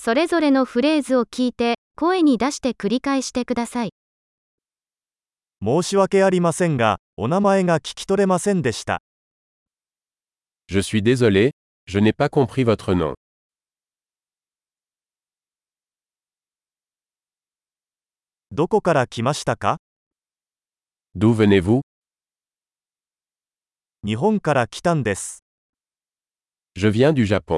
それぞれのフレーズを聞いて、声に出して繰り返してください。 申し訳ありませんが、お名前が聞き取れませんでした。 Je suis désolé, je n'ai pas compris votre nom. どこから来ましたか？ D'où venez-vous? 日本から来たんです。 Je viens du Japon.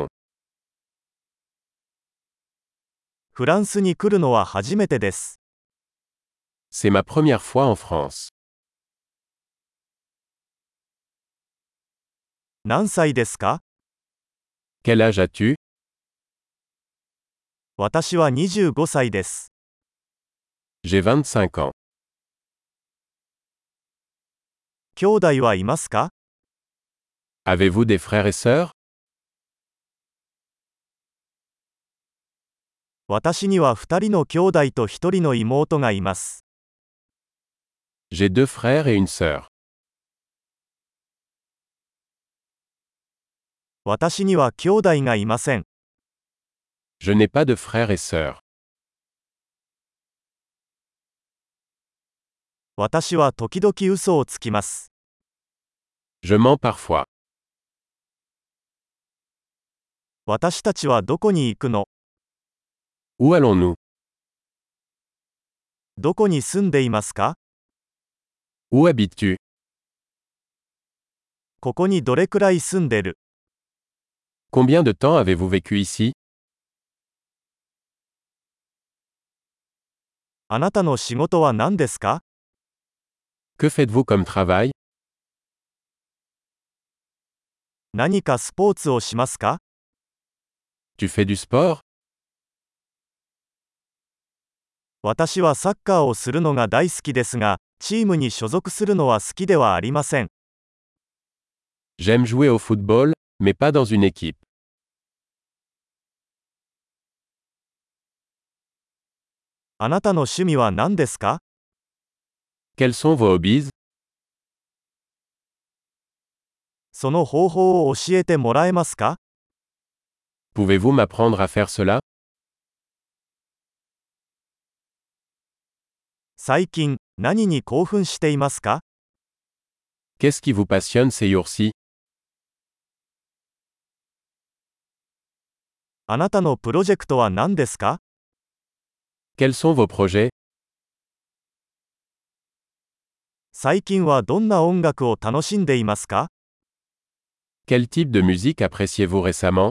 フランスに来るのは初めてです。 C'est ma première fois en France. 何歳ですか？ Quel âge as-tu? 私は25歳です。 J'ai 25 ans. 兄弟はいますか？ Avez-vous des frères et sœurs? 私には2人の兄弟と1人の妹がいます。 J'ai 2 frères et une sœur. 私には兄弟がいません。 Je n'ai pas de frères et sœurs. 私は時々嘘をつきます。 Je mens parfois. 私たちはどこに行くの？ Où allons-nous? どこに住んでいますか？ Où habites-tu? ここにどれくらい住んでる？ Combien de temps avez-vous vécu ici? あなたの仕事は何ですか？ Que faites-vous comme travail? 何かスポーツをしますか？ Tu fais du sport? 私はサッカーをするのが大好きですが、チームに所属するのは好きではありません。 J'aime jouer au football, mais pas dans une équipe. あなたの趣味は何ですか？ Quels sont vos hobbies? その方法を教えてもらえますか？ Pouvez-vous m'apprendre à faire cela? 最近、何に興奮していますか？ Qu'est-ce qui vous passionne ces jours-ci? あなたのプロジェクトは何ですか？ Quels sont vos projets? 最近はどんな音楽を楽しんでいますか？ Quel type de musique appréciez-vous récemment?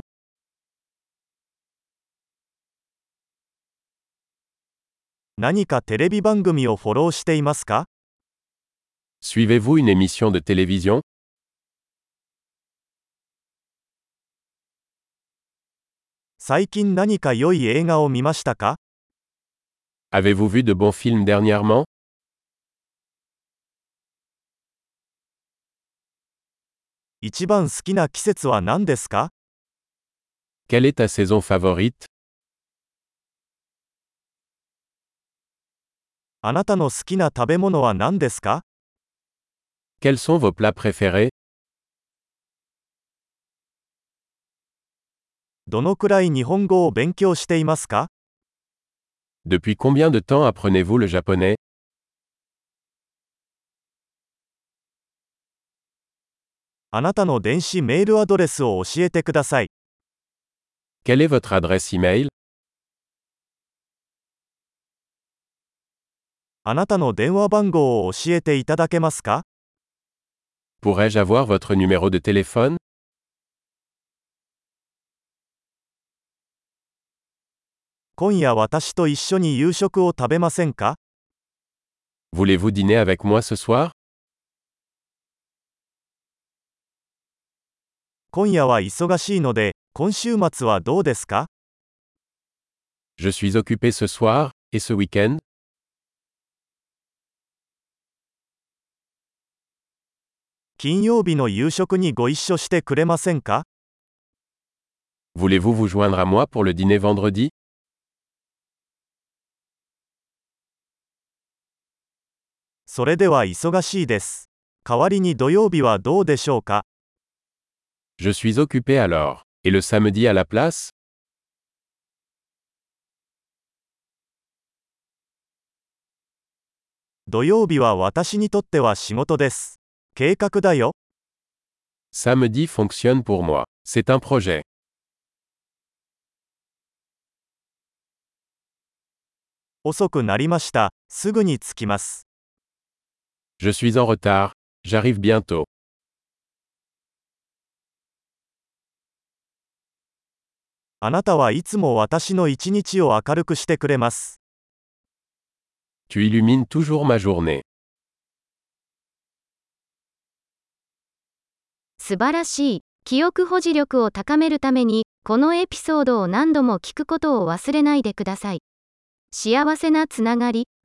何かテレビ番組をフォローしていますか？ Suivez-vous une émission de télévision? 最近何か良い映画を見ましたか？ Avez-vous vu de bons films dernièrement? 一番好きな季節は何ですか？ Quelle est ta saison favorite? あなたの好きな食べ物は何ですか？ Quels sont vos plats préférés? どのくらい日本語を勉強していますか？ Depuis combien de temps apprenez-vous le japonais? あなたの電子メールアドレスを教えてください。 Quelle est votre adresse email? あなたの電話番号を教えていただけますか？ Pourrais-je avoir votre numéro de téléphone? 今夜私と一緒に夕食を食べませんか？ Voulez-vous dîner avec moi ce soir? 今夜は忙しいので、今週末はどうですか？ Je suis occupé ce soir, et ce week-end? 金曜日の夕食にご一緒してくれませんか？ Voulez-vous vous joindre à moi pour le dîner vendredi? それでは忙しいです。代わりに土曜日はどうでしょうか？ Je suis occupé alors. Et le samedi à la place? 土曜日は私にとっては仕事です。計画だよ。 Samedi fonctionne pour moi. C'est un projet. 遅くなりました。すぐに着きます。 Je suis en retard. J'arrive bientôt. あなたはいつも私の一日を明るくしてくれます。 Tu illumines toujours ma journée. 素晴らしい。記憶保持力を高めるために、このエピソードを何度も聞くことを忘れないでください。幸せなつながり。